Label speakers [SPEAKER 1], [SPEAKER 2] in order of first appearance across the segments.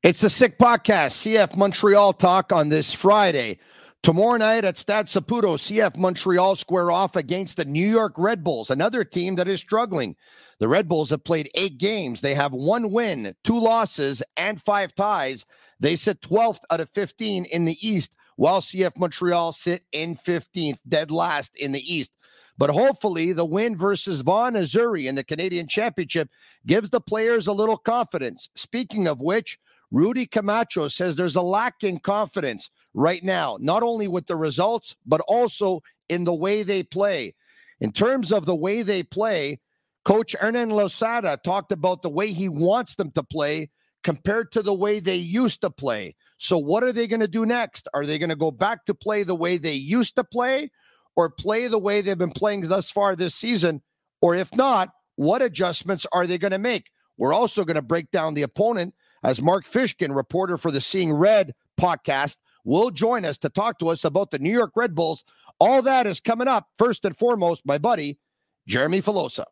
[SPEAKER 1] It's the Sick Podcast, CF Montreal talk on this Friday. Tomorrow night at Stade Saputo, CF Montreal square off against the New York Red Bulls, another team that is struggling. The Red Bulls have played 8 games. They have 1 win, 2 losses, and 5 ties. They sit 12th out of 15 in the East, while CF Montreal sit in 15th, dead last in the East. But hopefully the win versus Vaughan Azzurri in the Canadian Championship gives the players a little confidence. Speaking of which, Rudy Camacho says there's a lack in confidence right now, not only with the results, but also in the way they play. In terms of the way they play, Coach Hernan Losada talked about the way he wants them to play compared to the way they used to play. So what are they going to do next? Are they going to go back to play the way they used to play or play the way they've been playing thus far this season? Or if not, what adjustments are they going to make? We're also going to break down the opponent as Mark Fishkin, reporter for the Seeing Red podcast, will join us to talk to us about the New York Red Bulls. All that is coming up. First and foremost, my buddy, Jeremy Filosa.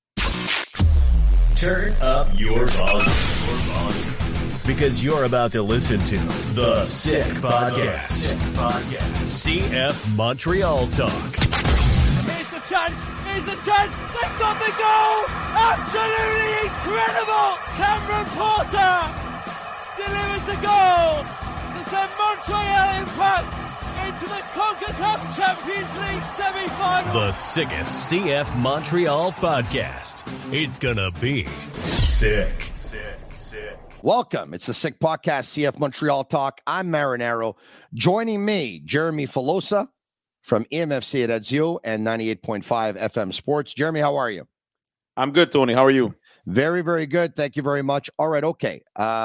[SPEAKER 2] Turn up your volume. Because you're about to listen to The Sick Podcast. CF Montreal Talk.
[SPEAKER 3] Here's the chance. They've got the goal. Absolutely incredible. Cameron Porter delivers the goal to send Montreal Impact into the CONCACAF Champions League semi-final.
[SPEAKER 2] The sickest CF Montreal podcast. It's gonna be sick.
[SPEAKER 1] Welcome. It's the Sick Podcast, CF Montreal Talk. I'm Marinaro. Joining me, Jeremy Filosa from EMFC at Ezio and 98.5 FM Sports. Jeremy, how are you?
[SPEAKER 4] I'm good, Tony. How are you?
[SPEAKER 1] Very, very good. Thank you very much. All right. Okay.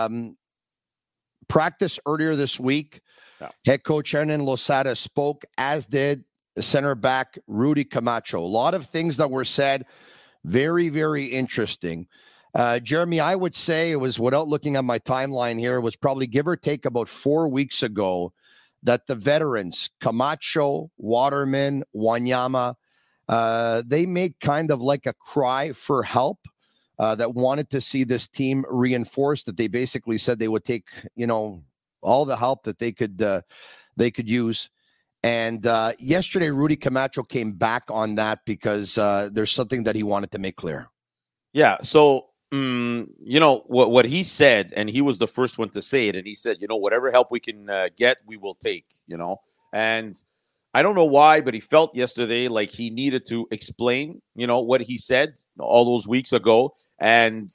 [SPEAKER 1] Practice earlier this week. Yeah. Head coach Hernan Losada spoke, as did the center back Rudy Camacho. A lot of things that were said. Very, very interesting. Jeremy, I would say it was, without looking at my timeline here, it was probably give or take about 4 weeks ago that the veterans, Camacho, Waterman, Wanyama, they made kind of like a cry for help that wanted to see this team reinforced, that they basically said they would take, all the help that they could use. And yesterday, Rudy Camacho came back on that because there's something that he wanted to make clear.
[SPEAKER 4] Yeah. So, what he said, and he was the first one to say it, and he said, whatever help we can get, we will take, and I don't know why, but he felt yesterday like he needed to explain, what he said all those weeks ago. And,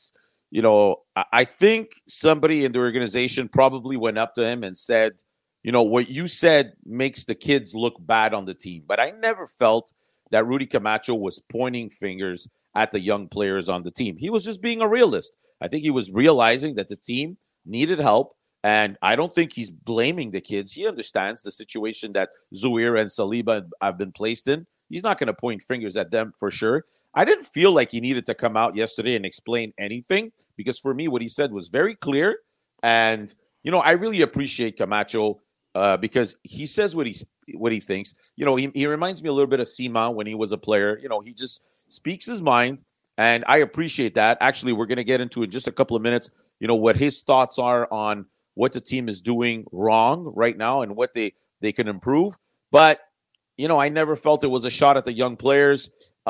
[SPEAKER 4] I think somebody in the organization probably went up to him and said, what you said makes the kids look bad on the team. But I never felt that Rudy Camacho was pointing fingers at the young players on the team. He was just being a realist. I think he was realizing that the team needed help. And I don't think he's blaming the kids. He understands the situation that Zouhir and Saliba have been placed in. He's not going to point fingers at them for sure. I didn't feel like he needed to come out yesterday and explain anything, because for me, what he said was very clear. And, I really appreciate Camacho because he says what he thinks. He reminds me a little bit of Sima when he was a player. He just speaks his mind, and I appreciate that. Actually, we're going to get into in just a couple of minutes, what his thoughts are on what the team is doing wrong right now and what they can improve. But, I never felt it was a shot at the young players.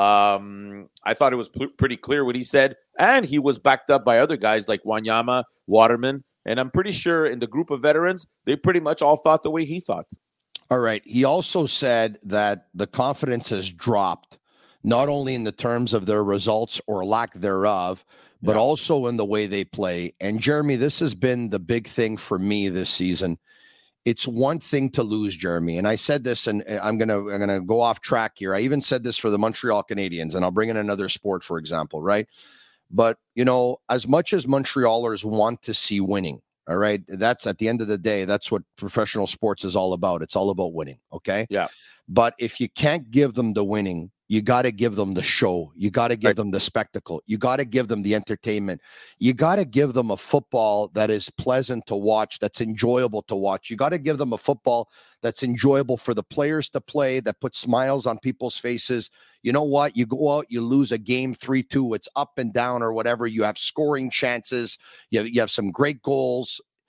[SPEAKER 4] I thought it was pretty clear what he said, and he was backed up by other guys like Wanyama, Waterman, and I'm pretty sure in the group of veterans, they pretty much all thought the way he thought.
[SPEAKER 1] All right. He also said that the confidence has dropped, not only in the terms of their results or lack thereof, but also in the way they play. And Jeremy, this has been the big thing for me this season. It's one thing to lose, Jeremy. And I said this, and I'm gonna go off track here. I even said this for the Montreal Canadiens, and I'll bring in another sport, for example, right? But, as much as Montrealers want to see winning, all right, that's at the end of the day, that's what professional sports is all about. It's all about winning, okay?
[SPEAKER 4] Yeah.
[SPEAKER 1] But if you can't give them the winning, you got to give them the show. You got to give them the spectacle. You got to give them the entertainment. You got to give them a football that is pleasant to watch, that's enjoyable to watch. You got to give them a football that's enjoyable for the players to play, that puts smiles on people's faces. You know what? You go out, you lose a game 3-2. It's up and down or whatever. You have scoring chances. You have some great goals.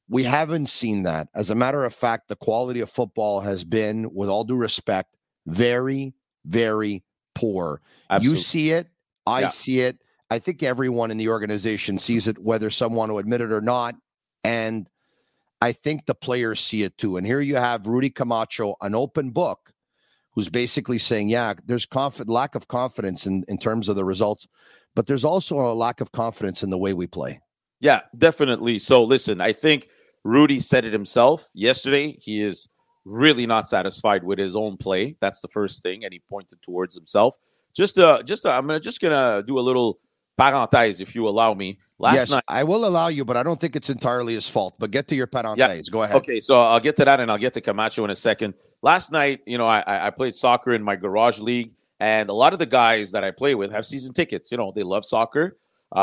[SPEAKER 1] We haven't seen that. As a matter of fact, the quality of football has been, with all due respect, very, very poor.
[SPEAKER 4] Absolutely.
[SPEAKER 1] You see it. I see it. I think everyone in the organization sees it, whether some want to admit it or not. And I think the players see it too. And here you have Rudy Camacho, an open book, who's basically saying, yeah, there's lack of confidence in terms of the results, but there's also a lack of confidence in the way we play.
[SPEAKER 4] Yeah, definitely. So listen, I think Rudy said it himself yesterday. He is really not satisfied with his own play. That's the first thing, and he pointed towards himself. I'm gonna do a little parenthèse, if you allow me. Last night,
[SPEAKER 1] I will allow you, but I don't think it's entirely his fault. But get to your parenthèse.
[SPEAKER 4] Yeah.
[SPEAKER 1] Go ahead.
[SPEAKER 4] Okay, so I'll get to that, and I'll get to Camacho in a second. Last night, I played soccer in my garage league, and a lot of the guys that I play with have season tickets. They love soccer.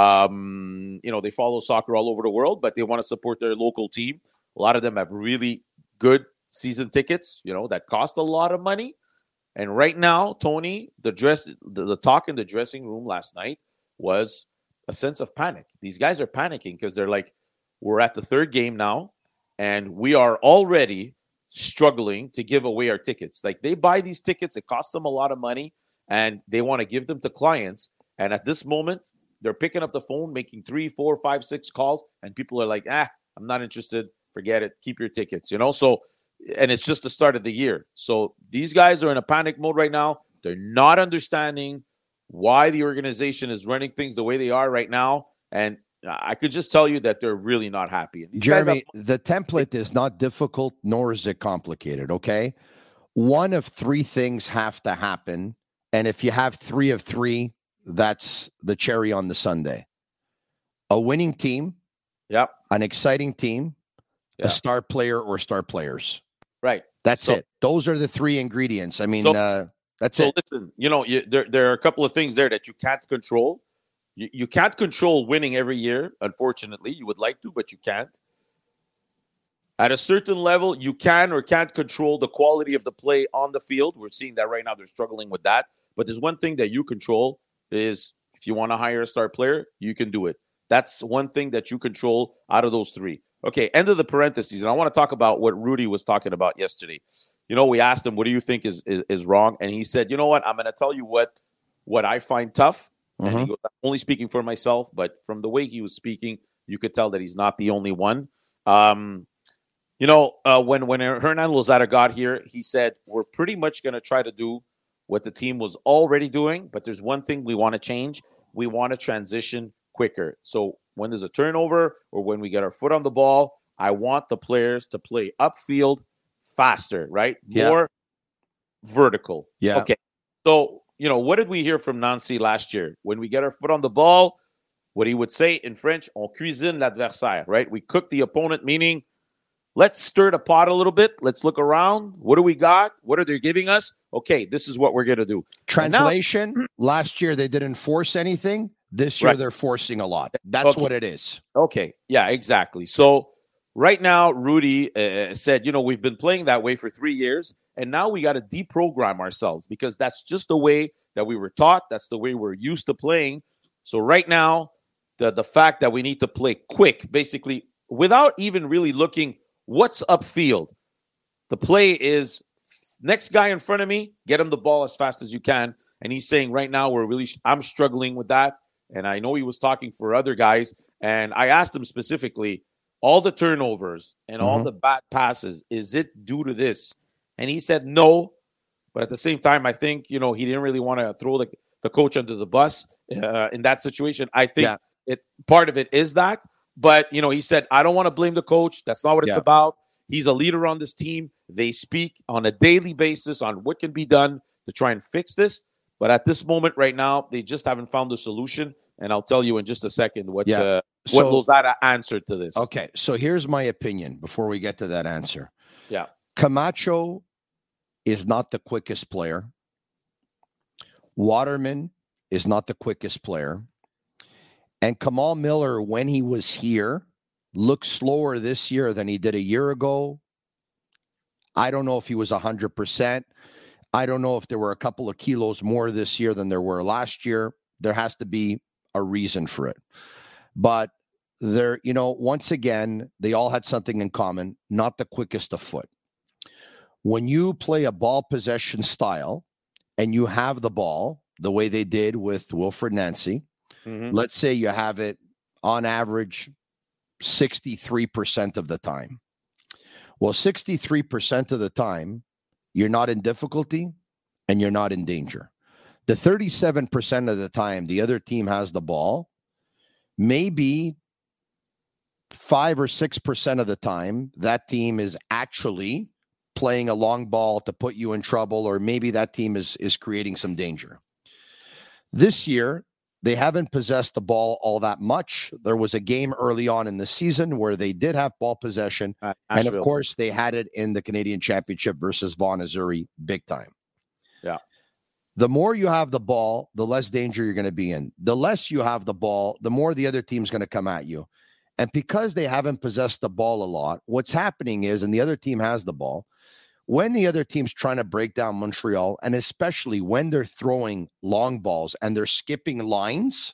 [SPEAKER 4] They follow soccer all over the world, but they want to support their local team. A lot of them have really good season tickets, that cost a lot of money. And right now, Tony, the talk in the dressing room last night was a sense of panic. These guys are panicking because they're like, we're at the third game now, and we are already struggling to give away our tickets. Like, they buy these tickets, it costs them a lot of money, and they want to give them to clients. And at this moment, they're picking up the phone, making 3, 4, 5, 6 calls, and people are like, I'm not interested. Forget it. Keep your tickets, So, and it's just the start of the year. So these guys are in a panic mode right now. They're not understanding why the organization is running things the way they are right now. And I could just tell you that they're really not happy. And
[SPEAKER 1] Jeremy, the template is not difficult, nor is it complicated, okay? One of 3 things have to happen. And if you have 3 of 3, that's the cherry on the sundae. A winning team, an exciting team, a star player or star players.
[SPEAKER 4] Right.
[SPEAKER 1] That's it. Those are the 3 ingredients. I mean, that's it.
[SPEAKER 4] So listen, there are a couple of things there that you can't control. You can't control winning every year, unfortunately. You would like to, but you can't. At a certain level, you can or can't control the quality of the play on the field. We're seeing that right now. They're struggling with that. But there's one thing that you control is if you want to hire a star player, you can do it. That's one thing that you control out of those 3. Okay, end of the parentheses. And I want to talk about what Rudy was talking about yesterday. We asked him, what do you think is wrong? And he said, you know what? I'm going to tell you what I find tough. And he goes, I'm only speaking for myself, but from the way he was speaking, you could tell that he's not the only one. When Hernan Lozada got here, he said, we're pretty much going to try to do what the team was already doing, but there's one thing we want to change. We want to transition quicker. So when there's a turnover or when we get our foot on the ball, I want the players to play upfield faster, right? More vertical.
[SPEAKER 1] Yeah.
[SPEAKER 4] Okay. So, what did we hear from Nancy last year? When we get our foot on the ball, what he would say in French, on cuisine l'adversaire, right? We cook the opponent, meaning let's stir the pot a little bit. Let's look around. What do we got? What are they giving us? Okay, this is what we're going to do.
[SPEAKER 1] Translation, last year they didn't force anything. This year they're forcing a lot. That's what it is.
[SPEAKER 4] Okay, yeah, exactly. So right now, Rudy said, we've been playing that way for 3 years, and now we got to deprogram ourselves because that's just the way that we were taught. That's the way we're used to playing. So right now, the fact that we need to play quick, basically, without even really looking what's upfield. The play is next guy in front of me, get him the ball as fast as you can. And he's saying right now I'm struggling with that. And I know he was talking for other guys. And I asked him specifically, all the turnovers and all the bad passes, is it due to this? And he said no. But at the same time, I think, he didn't really want to throw the coach under the bus in that situation. I think part of it is that. But, he said, I don't want to blame the coach. That's not what it's about. He's a leader on this team. They speak on a daily basis on what can be done to try and fix this. But at this moment right now, they just haven't found a solution. And I'll tell you in just a second what Lozada answered to this.
[SPEAKER 1] Okay, so here's my opinion before we get to that answer.
[SPEAKER 4] Yeah.
[SPEAKER 1] Camacho is not the quickest player. Waterman is not the quickest player. And Kamal Miller, when he was here, looked slower this year than he did a year ago. I don't know if he was 100%. I don't know if there were a couple of kilos more this year than there were last year. There has to be a reason for it. But they're, once again, they all had something in common, not the quickest of foot. When you play a ball possession style and you have the ball the way they did with Wilfred Nancy, let's say you have it on average 63% of the time. Well, 63% of the time, you're not in difficulty and you're not in danger. The 37% of the time the other team has the ball, maybe 5 or 6% of the time that team is actually playing a long ball to put you in trouble, or maybe that team is creating some danger. This year, they haven't possessed the ball all that much. There was a game early on in the season where they did have ball possession. And of course, they had it in the Canadian Championship versus Vaughan Azzurri big time.
[SPEAKER 4] Yeah.
[SPEAKER 1] The more you have the ball, the less danger you're going to be in. The less you have the ball, the more the other team's going to come at you. And because they haven't possessed the ball a lot, what's happening is, and the other team has the ball, when the other team's trying to break down Montreal, and especially when they're throwing long balls and they're skipping lines,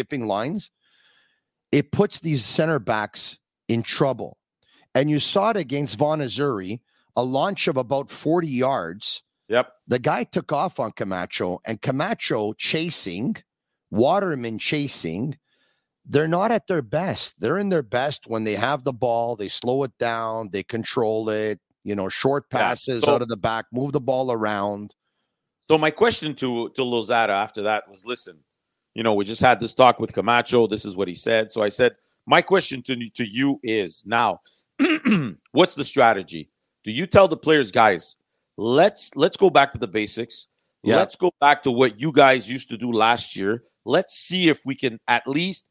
[SPEAKER 1] it puts these center backs in trouble. And you saw it against Vaughan Azzurri, a launch of about 40 yards.
[SPEAKER 4] Yep.
[SPEAKER 1] The guy took off on Camacho, and Camacho chasing, Waterman chasing. They're not at their best. They're in their best when they have the ball, they slow it down, they control it, short passes out of the back, move the ball around.
[SPEAKER 4] So my question to Lozada after that was, listen, we just had this talk with Camacho. This is what he said. So I said, my question to you is now, what's the strategy? Do you tell the players, guys, let's go back to the basics. Yeah. Let's go back to what you guys used to do last year. Let's see if we can at least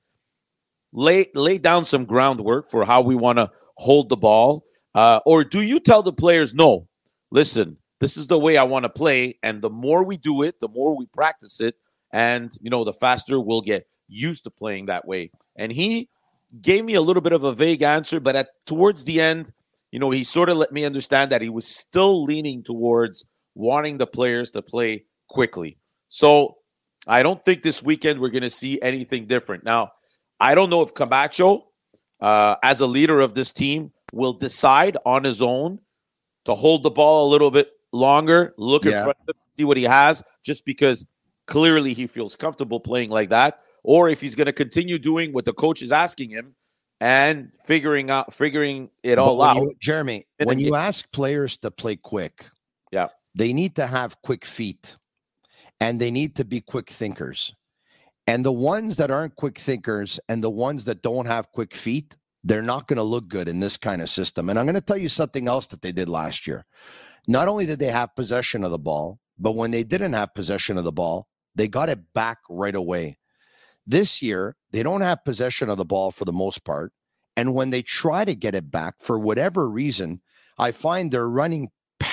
[SPEAKER 4] lay down some groundwork for how we want to hold the ball. Or do you tell the players, no, listen, this is the way I want to play. And the more we do it, the more we practice it. And, the faster we'll get used to playing that way. And he gave me a little bit of a vague answer, but towards the end, he sort of let me understand that he was still leaning towards wanting the players to play quickly. So I don't think this weekend we're going to see anything different. Now, I don't know if Camacho, as a leader of this team, will decide on his own to hold the ball a little bit longer, look in front of him, see what he has, just because clearly he feels comfortable playing like that, or if he's going to continue doing what the coach is asking him and figuring it all out.
[SPEAKER 1] Jeremy, when you ask players to play quick, they need to have quick feet and they need to be quick thinkers. And the ones that aren't quick thinkers and the ones that don't have quick feet, they're not going to look good in this kind of system. And I'm going to tell you something else that they did last year. Not only did they have possession of the ball, but when they didn't have possession of the ball, they got it back right away. This year, they don't have possession of the ball for the most part. And when they try to get it back, for whatever reason, I find they're running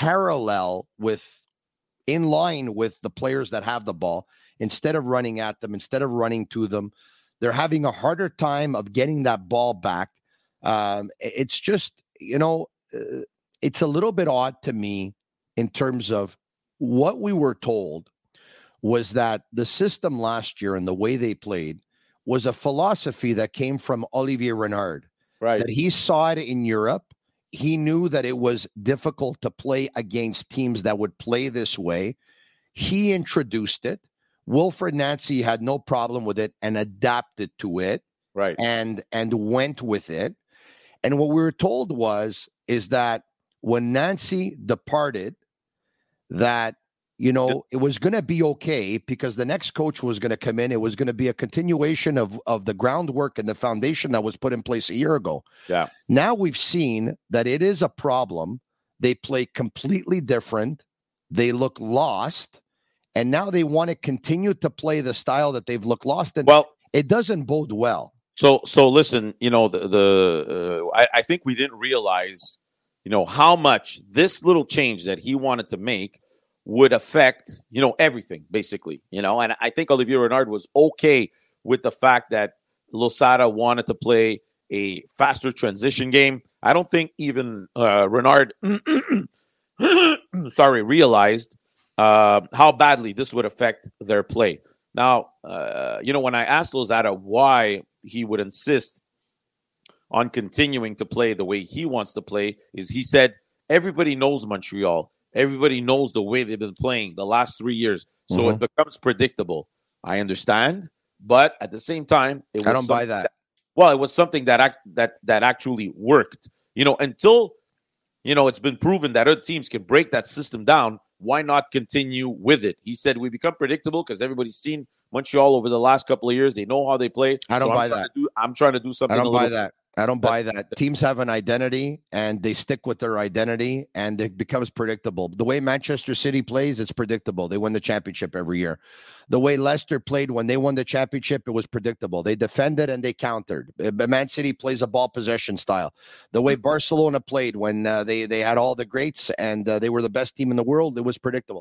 [SPEAKER 1] in line with the players that have the ball. Instead of running at them, instead of running to them, they're having a harder time of getting that ball back. It's just, it's a little bit odd to me in terms of what we were told was that the system last year and the way they played was a philosophy that came from Olivier Renard.
[SPEAKER 4] Right.
[SPEAKER 1] That he saw it in Europe. He knew that it was difficult to play against teams that would play this way. He introduced it. Wilfred Nancy had no problem with it and adapted to it,
[SPEAKER 4] right? And
[SPEAKER 1] went with it. And what we were told is that when Nancy departed, that it was going to be okay because the next coach was going to come in. It was going to be a continuation of the groundwork and the foundation that was put in place a year ago.
[SPEAKER 4] Yeah.
[SPEAKER 1] Now we've seen that it is a problem. They play completely different. They look lost. And now they want to continue to play the style that they've looked lost in.
[SPEAKER 4] Well,
[SPEAKER 1] it doesn't bode well.
[SPEAKER 4] So listen, I think we didn't realize, how much this little change that he wanted to make would affect, everything basically, and I think Olivier Renard was okay with the fact that Losada wanted to play a faster transition game. I don't think even Renard, realized how badly this would affect their play. Now, when I asked Lozada why he would insist on continuing to play the way he wants to play is he said, everybody knows Montreal. Everybody knows the way they've been playing the last 3 years. So it becomes predictable. I understand. But at the same time,
[SPEAKER 1] I don't buy that.
[SPEAKER 4] It was something that actually worked. Until, it's been proven that other teams can break that system down, why not continue with it? He said, we become predictable because everybody's seen Montreal over the last couple of years. They know how they play.
[SPEAKER 1] I don't buy that.
[SPEAKER 4] I'm trying to do something.
[SPEAKER 1] I don't buy that. I don't buy that. Teams have an identity, and they stick with their identity, and it becomes predictable. The way Manchester City plays, it's predictable. They win the championship every year. The way Leicester played when they won the championship, it was predictable. They defended and they countered. Man City plays a ball possession style. The way Barcelona played when they had all the greats and they were the best team in the world, it was predictable.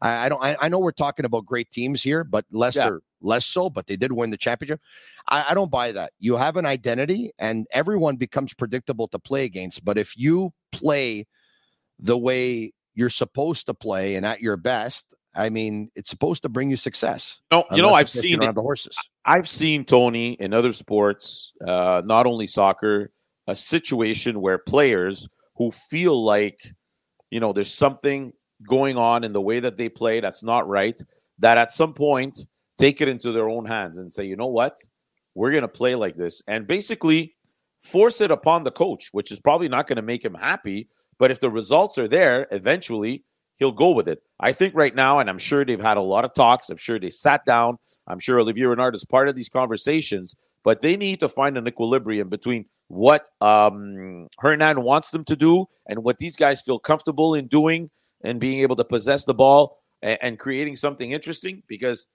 [SPEAKER 1] I know we're talking about great teams here, but Leicester less so, but they did win the championship. I don't buy that. You have an identity and everyone becomes predictable to play against. But if you play the way you're supposed to play and at your best, I mean, it's supposed to bring you success.
[SPEAKER 4] No, I've seen
[SPEAKER 1] around the horses.
[SPEAKER 4] I've seen, Tony, in other sports, not only soccer, a situation where players who feel like, there's something going on in the way that they play that's not right, that at some point take it into their own hands and say, you know what, we're going to play like this, and basically force it upon the coach, which is probably not going to make him happy. But if the results are there, eventually he'll go with it. I think right now, and I'm sure they've had a lot of talks, I'm sure they sat down, I'm sure Olivier Renard is part of these conversations, but they need to find an equilibrium between what Hernan wants them to do and what these guys feel comfortable in doing and being able to possess the ball and creating something interesting, because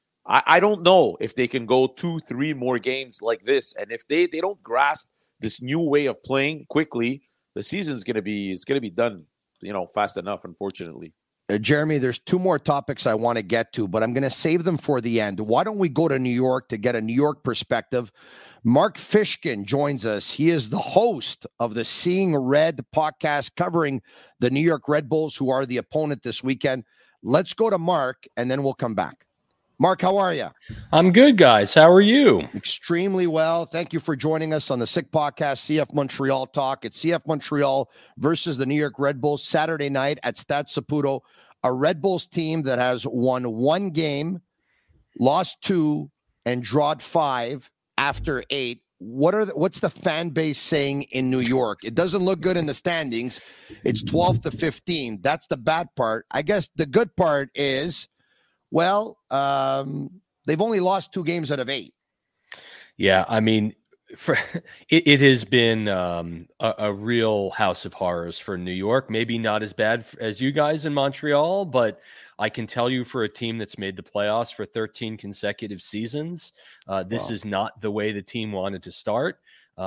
[SPEAKER 4] I don't know if they can go 2-3 more games like this. And if they don't grasp this new way of playing quickly, the season's going to be done, fast enough, unfortunately.
[SPEAKER 1] Jeremy, there's 2 more topics I want to get to, but I'm going to save them for the end. Why don't we go to New York to get a New York perspective? Mark Fishkin joins us. He is the host of the Seeing Red podcast covering the New York Red Bulls, who are the opponent this weekend. Let's go to Mark, and then we'll come back. Mark, how are you?
[SPEAKER 5] I'm good, guys. How are you?
[SPEAKER 1] Extremely well. Thank you for joining us on the Sick Podcast, CF Montreal Talk. It's CF Montreal versus the New York Red Bulls Saturday night at Stade Saputo, a Red Bulls team that has won 1 game, lost 2, and drawed 5 after 8. What's the fan base saying in New York? It doesn't look good in the standings. It's 12-15. That's the bad part. I guess the good part is, well, they've only lost 2 games out of 8.
[SPEAKER 5] Yeah, I mean, it has been a real house of horrors for New York. Maybe not as bad as you guys in Montreal, but I can tell you, for a team that's made the playoffs for 13 consecutive seasons, this is not the way the team wanted to start.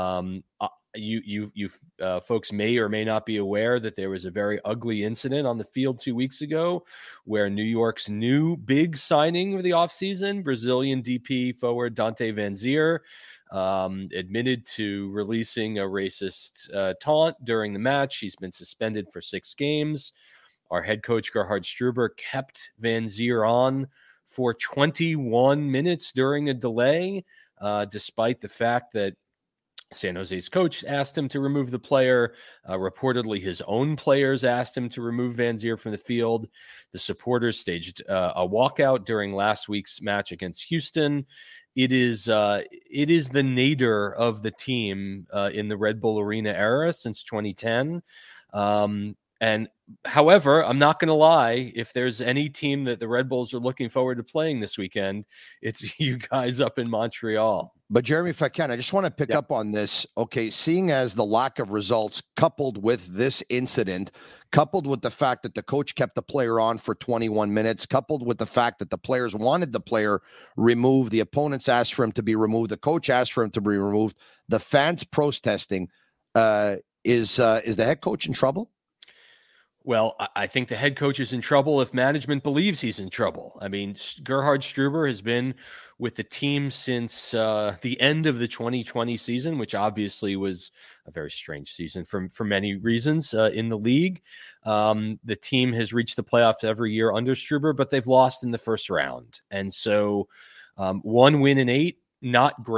[SPEAKER 5] You folks may or may not be aware that there was a very ugly incident on the field 2 weeks ago where New York's new big signing of the offseason, Brazilian DP forward Dante Vanzeir, admitted to releasing a racist taunt during the match. He's been suspended for 6 games. Our head coach, Gerhard Struber, kept Vanzeir on for 21 minutes during a delay, despite the fact that San Jose's coach asked him to remove the player. Reportedly, his own players asked him to remove Vanzeir from the field. The supporters staged a walkout during last week's match against Houston. It is the nadir of the team in the Red Bull Arena era since 2010. And however, I'm not going to lie, if there's any team that the Red Bulls are looking forward to playing this weekend, it's you guys up in Montreal.
[SPEAKER 1] But Jeremy, if I can, I just want to pick up on this. Okay, seeing as the lack of results coupled with this incident, coupled with the fact that the coach kept the player on for 21 minutes, coupled with the fact that the players wanted the player removed, the opponents asked for him to be removed, the coach asked for him to be removed, the fans protesting, is the head coach in trouble?
[SPEAKER 5] Well, I think the head coach is in trouble if management believes he's in trouble. I mean, Gerhard Struber has been with the team since the end of the 2020 season, which obviously was a very strange season for many reasons in the league. The team has reached the playoffs every year under Struber, but they've lost in the first round. And so 1 win in 8, not great.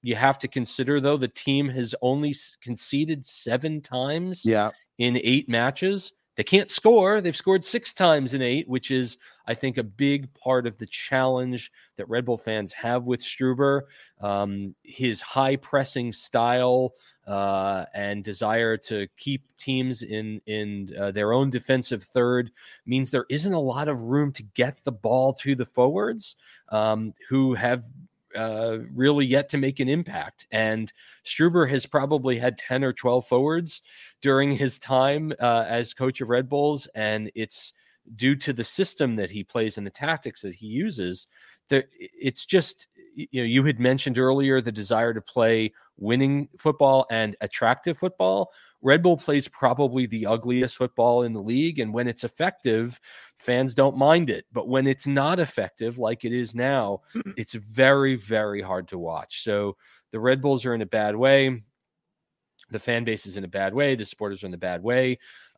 [SPEAKER 5] you have to consider, though, the team has only conceded 7 times in 8 matches. They can't score. They've scored 6 times in 8, which is, I think, a big part of the challenge that Red Bull fans have with Struber. His high pressing style and desire to keep teams in their own defensive third means there isn't a lot of room to get the ball to the forwards who have really yet to make an impact. And Struber has probably had 10 or 12 forwards during his time as coach of Red Bulls, and it's due to the system that he plays and the tactics that he uses. It's just, you had mentioned earlier the desire to play winning football and attractive football. Red Bull plays probably the ugliest football in the league, and when it's effective, fans don't mind it. But when it's not effective, like it is now, it's very, very hard to watch. So the Red Bulls are in a bad way. The fan base is in a bad way. The supporters are in a bad way.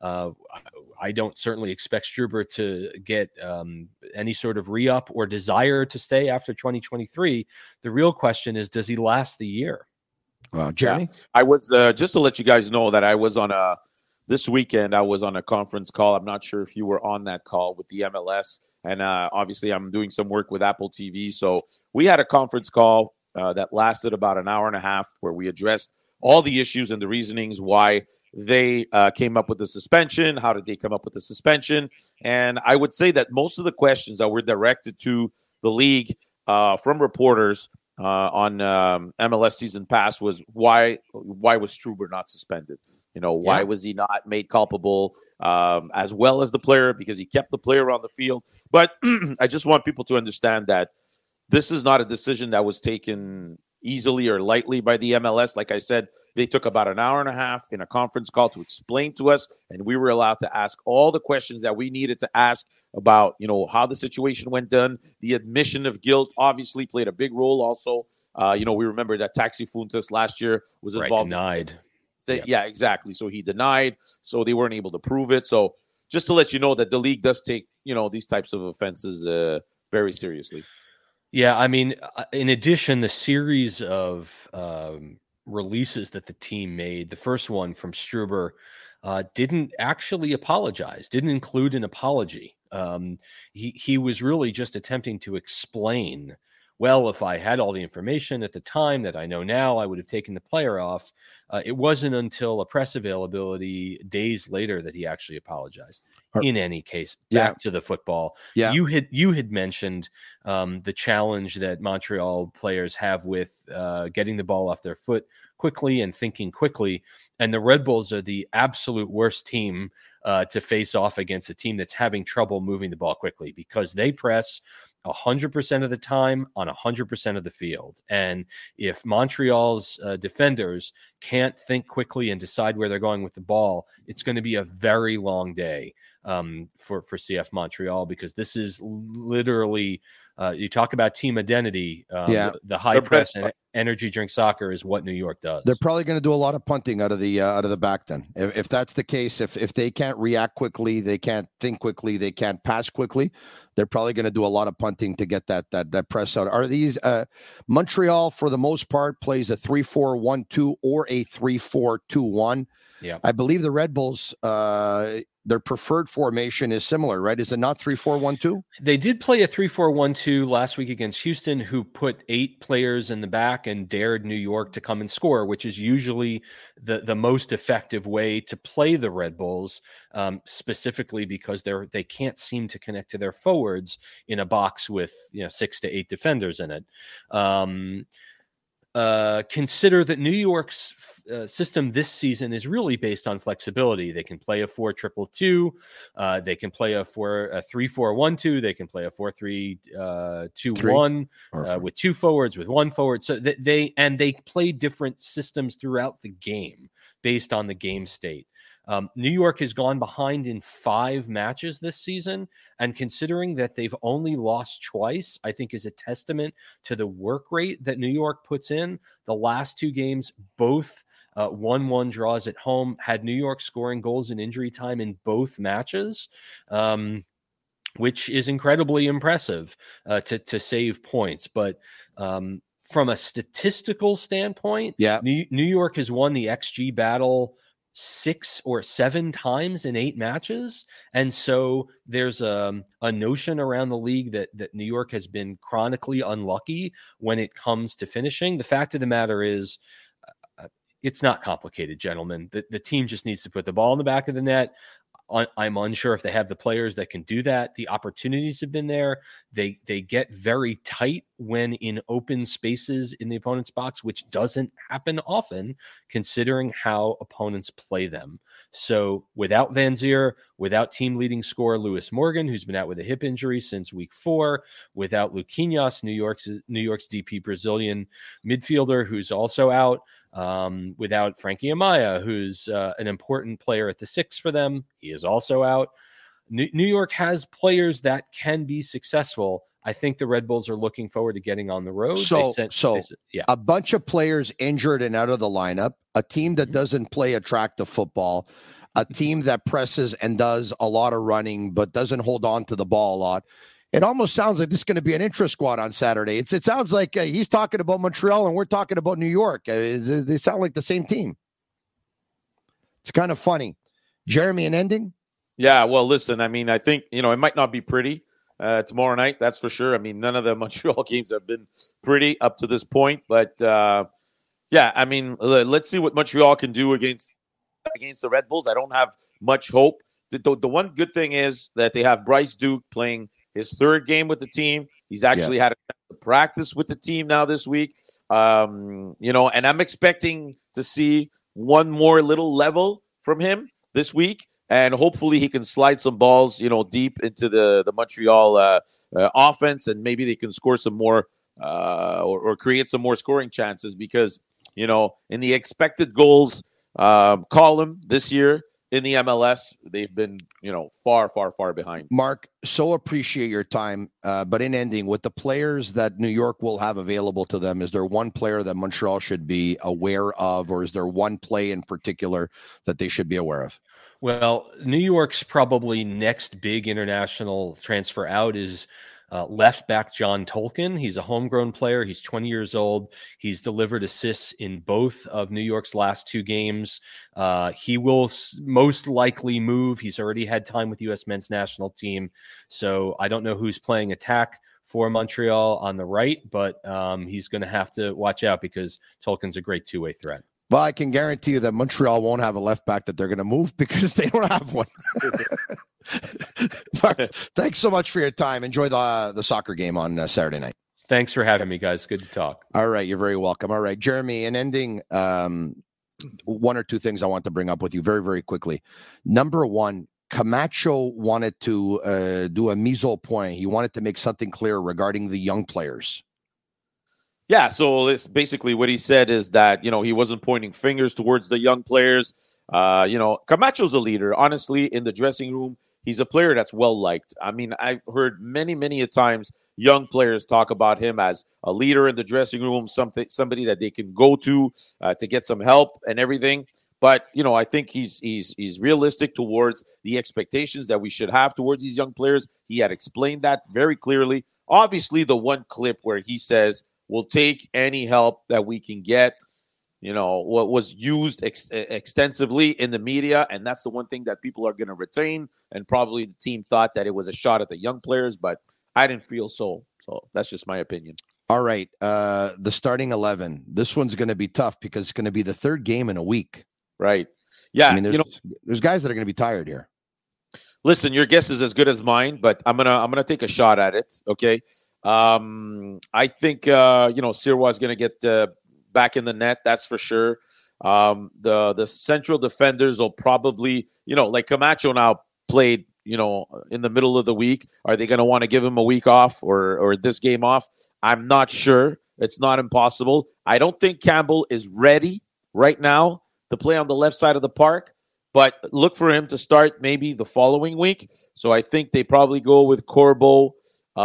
[SPEAKER 5] I don't certainly expect Struber to get any sort of re-up or desire to stay after 2023. The real question is, does he last the year?
[SPEAKER 1] Jeremy?
[SPEAKER 4] Yeah. I was, just to let you guys know that I was this weekend, I was on a conference call. I'm not sure if you were on that call with the MLS. And obviously, I'm doing some work with Apple TV. So we had a conference call that lasted about an hour and a half where we addressed all the issues and the reasonings why they came up with the suspension. How did they come up with the suspension? And I would say that most of the questions that were directed to the league from reporters on MLS Season Pass was why was Struber not suspended? Why was he not made culpable as well as the player, because he kept the player on the field? But I just want people to understand that this is not a decision that was taken easily or lightly by the MLS. Like I said, they took about an hour and a half in a conference call to explain to us, and we were allowed to ask all the questions that we needed to ask about, how the situation went down. The admission of guilt obviously played a big role also. We remember that Taxi Fuentes last year was involved.
[SPEAKER 5] Denied.
[SPEAKER 4] Yeah, exactly. So he denied, so they weren't able to prove it. So just to let you know that the league does take, these types of offenses very seriously.
[SPEAKER 5] Yeah, I mean, in addition, the series of releases that the team made, the first one from Struber didn't actually apologize, didn't include an apology. He was really just attempting to explain, well, if I had all the information at the time that I know now, I would have taken the player off. It wasn't until a press availability days later that he actually apologized. In any case, back to the football.
[SPEAKER 1] Yeah.
[SPEAKER 5] You had mentioned the challenge that Montreal players have with getting the ball off their foot quickly and thinking quickly. And the Red Bulls are the absolute worst team to face off against a team that's having trouble moving the ball quickly, because they press 100% of the time on 100% of the field. And if Montreal's defenders can't think quickly and decide where they're going with the ball, it's going to be a very long day for CF Montreal, because this is literally you talk about team identity. The high press and energy drink soccer is what New York does.
[SPEAKER 1] They're probably going to do a lot of punting out of the back then. If that's the case, if they can't react quickly, they can't think quickly, they can't pass quickly, they're probably going to do a lot of punting to get that press out. Are these Montreal, for the most part, plays a 3-4-1-2 or a 3-4-2-1?
[SPEAKER 5] Yeah,
[SPEAKER 1] I believe the Red Bulls, their preferred formation is similar, right? Is it not 3-4-1-2?
[SPEAKER 5] They did play a 3-4-1-2 last week against Houston, who put 8 players in the back and dared New York to come and score, which is usually the most effective way to play the Red Bulls, specifically because they can't seem to connect to their forwards in a box with 6 to 8 defenders in it. Consider that New York's system this season is really based on flexibility. They can play a 4-2-2. They can play a 3-4-1-2. They can play a 4-3-2-1 with 2 forwards, with 1 forward. So they play different systems throughout the game based on the game state. New York has gone behind in 5 matches this season, and considering that they've only lost twice, I think is a testament to the work rate that New York puts in. The last 2 games, both 1-1 draws at home, had New York scoring goals in injury time in both matches, which is incredibly impressive to save points. But from a statistical standpoint,
[SPEAKER 1] Yeah.
[SPEAKER 5] New York has won the XG battle 6 or 7 times in 8 matches. And so there's a notion around the league that New York has been chronically unlucky when it comes to finishing. The fact of the matter is, it's not complicated, gentlemen. The team just needs to put the ball in the back of the net. I'm unsure if they have the players that can do that. The opportunities have been there. They get very tight when in open spaces in the opponent's box, which doesn't happen often considering how opponents play them. So without Van Zier, without team leading scorer Lewis Morgan, who's been out with a hip injury since week 4, without Luquinhas, New York's DP Brazilian midfielder, who's also out, without Frankie Amaya, who's an important player at the 6 for them. He is also out. New York has players that can be successful. I think the Red Bulls are looking forward to getting on the road.
[SPEAKER 1] A bunch of players injured and out of the lineup, a team that doesn't play attractive football, a team that presses and does a lot of running but doesn't hold on to the ball a lot. It almost sounds like this is going to be an intra squad on Saturday. It sounds like he's talking about Montreal and we're talking about New York. They sound like the same team. It's kind of funny. Jeremy, an ending?
[SPEAKER 4] Yeah, well, listen, I mean, I think, it might not be pretty tomorrow night, that's for sure. I mean, none of the Montreal games have been pretty up to this point. But, yeah, I mean, let's see what Montreal can do against the Red Bulls. I don't have much hope. The one good thing is that they have Bryce Duke playing his 3rd game with the team. He's actually had a chance to practice with the team now this week. And I'm expecting to see one more little level from him this week. And hopefully he can slide some balls, deep into the Montreal offense, and maybe they can score some more or create some more scoring chances because, in the expected goals column this year, in the MLS, they've been, far, far, far behind.
[SPEAKER 1] Mark, so appreciate your time. But in ending, with the players that New York will have available to them, is there one player that Montreal should be aware of, or is there one play in particular that they should be aware of?
[SPEAKER 5] Well, New York's probably next big international transfer out is left back John Tolkin. He's a homegrown player. He's 20 years old. He's delivered assists in both of New York's last 2 games. He will most likely move. He's already had time with the U.S. men's national team. So I don't know who's playing attack for Montreal on the right, but he's going to have to watch out because Tolkin's a great 2-way threat.
[SPEAKER 1] Well, I can guarantee you that Montreal won't have a left back that they're going to move because they don't have one. Mark, thanks so much for your time. Enjoy the soccer game on Saturday night.
[SPEAKER 5] Thanks for having me, guys. Good to talk.
[SPEAKER 1] All right. You're very welcome. All right, Jeremy, in ending, 1 or 2 things I want to bring up with you very, very quickly. Number 1, Camacho wanted to do a mise au point. He wanted to make something clear regarding the young players.
[SPEAKER 4] Yeah, so it's basically what he said is that, he wasn't pointing fingers towards the young players. Camacho's a leader. Honestly, in the dressing room, he's a player that's well-liked. I mean, I've heard many, many a times young players talk about him as a leader in the dressing room, somebody that they can go to get some help and everything. But, I think he's realistic towards the expectations that we should have towards these young players. He had explained that very clearly. Obviously, the one clip where he says, we'll take any help that we can get, what was used extensively in the media. And that's the one thing that people are going to retain. And probably the team thought that it was a shot at the young players, but I didn't feel so. So that's just my opinion.
[SPEAKER 1] All right. The starting 11. This one's going to be tough because it's going to be the 3rd game in a week.
[SPEAKER 4] Right. Yeah.
[SPEAKER 1] I mean, there's guys that are going to be tired here.
[SPEAKER 4] Listen, your guess is as good as mine, but I'm gonna take a shot at it. Okay. I think Sirois is going to get back in the net. That's for sure. The central defenders will probably, like Camacho now played, in the middle of the week. Are they going to want to give him a week off or this game off? I'm not sure. It's not impossible. I don't think Campbell is ready right now to play on the left side of the park, but look for him to start maybe the following week. So I think they probably go with Corbo,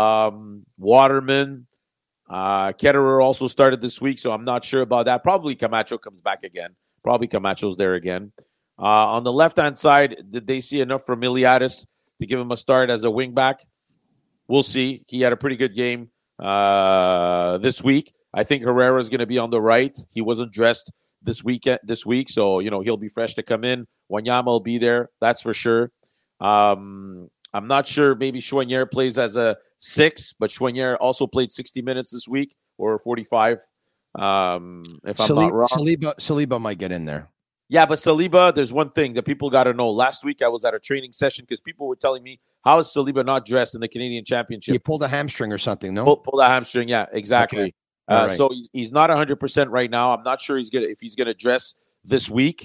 [SPEAKER 4] Waterman, Ketterer also started this week, so I'm not sure about that. Probably Camacho comes back again. Probably Camacho's there again. On the left-hand side, did they see enough from Iliadis to give him a start as a wing back? We'll see. He had a pretty good game this week. I think Herrera is going to be on the right. He wasn't dressed this week, so he'll be fresh to come in. Wanyama will be there, that's for sure. I'm not sure. Maybe Choinière plays as a 6, but Choinière also played 60 minutes this week or 45. If I'm not wrong,
[SPEAKER 1] Saliba might get in there.
[SPEAKER 4] Yeah, but Saliba, there's one thing that people got to know. Last week, I was at a training session because people were telling me, how is Saliba not dressed in the Canadian Championship?
[SPEAKER 1] He pulled a hamstring or something, no?
[SPEAKER 4] Pulled a hamstring, yeah, exactly.
[SPEAKER 1] Okay. Right.
[SPEAKER 4] So he's not 100% right now. I'm not sure if he's gonna dress this week.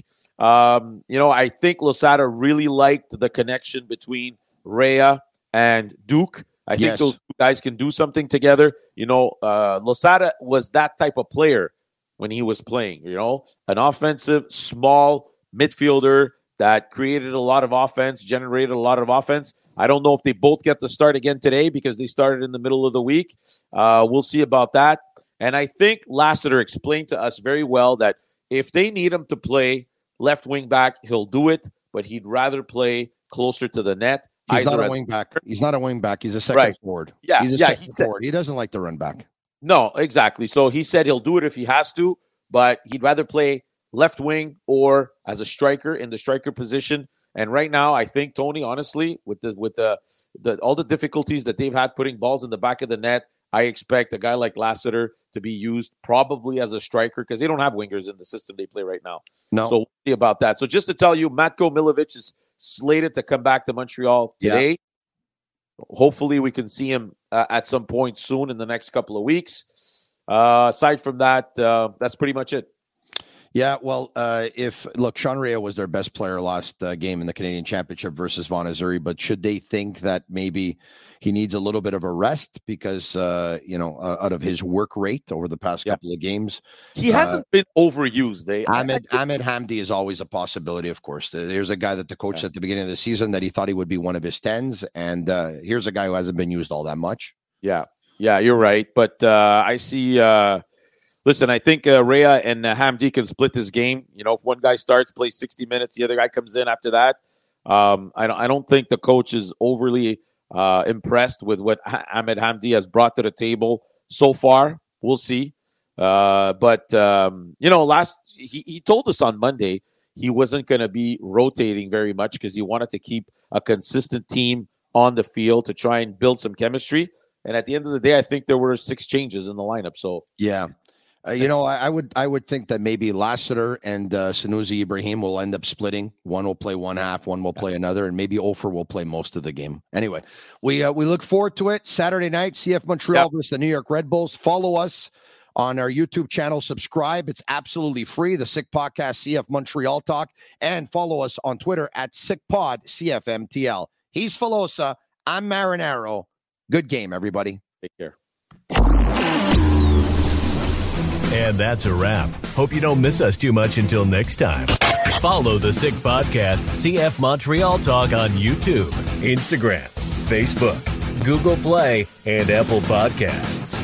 [SPEAKER 4] I think Losada really liked the connection between Rea and Duke. I think those two guys can do something together. Losada was that type of player when he was playing, an offensive, small midfielder that created a lot of offense, generated a lot of offense. I don't know if they both get the start again today because they started in the middle of the week. We'll see about that. And I think Lassiter explained to us very well that if they need him to play left wing back, he'll do it, but he'd rather play closer to the net.
[SPEAKER 1] He's not a wing back. He's not a wing back. He's a second forward.
[SPEAKER 4] Yeah,
[SPEAKER 1] he's a second forward. He doesn't like to run back.
[SPEAKER 4] No, exactly. So he said he'll do it if he has to, but he'd rather play left wing or as a striker in the striker position. And right now, I think, Tony, honestly, with the all the difficulties that they've had putting balls in the back of the net, I expect a guy like Lassiter to be used probably as a striker because they don't have wingers in the system they play right now.
[SPEAKER 1] No.
[SPEAKER 4] So we'll see about that. So just to tell you, Matko Milovic is slated to come back to Montreal today. Yeah. Hopefully we can see him at some point soon in the next couple of weeks. Aside from that, that's pretty much it.
[SPEAKER 1] Yeah, well, Sean Rea was their best player last game in the Canadian Championship versus Vaughan Azzurri, but should they think that maybe he needs a little bit of a rest because, out of his work rate over the past couple of games?
[SPEAKER 4] He hasn't been overused.
[SPEAKER 1] Ahmed Hamdi is always a possibility, of course. There's a guy that the coach said at the beginning of the season that he thought he would be one of his 10s, and here's a guy who hasn't been used all that much.
[SPEAKER 4] Yeah, you're right. But I see... Listen, I think Rea and Hamdi can split this game. If one guy starts, plays 60 minutes, the other guy comes in after that. I don't think the coach is overly impressed with what Ahmed Hamdi has brought to the table so far. We'll see. But he told us on Monday he wasn't going to be rotating very much because he wanted to keep a consistent team on the field to try and build some chemistry. And at the end of the day, I think there were 6 changes in the lineup. So
[SPEAKER 1] yeah. I would think that maybe Lassiter and Sanusi Ibrahim will end up splitting. One will play one half, one will play another, and maybe Ofer will play most of the game. Anyway, we look forward to it. Saturday night, CF Montreal versus the New York Red Bulls. Follow us on our YouTube channel. Subscribe. It's absolutely free. The Sick Podcast, CF Montreal Talk. And follow us on Twitter at SickPod, CFMTL. He's Filosa. I'm Marinaro. Good game, everybody.
[SPEAKER 4] Take care.
[SPEAKER 2] And that's a wrap. Hope you don't miss us too much until next time. Follow the Sick Podcast, CF Montreal Talk on YouTube, Instagram, Facebook, Google Play, and Apple Podcasts.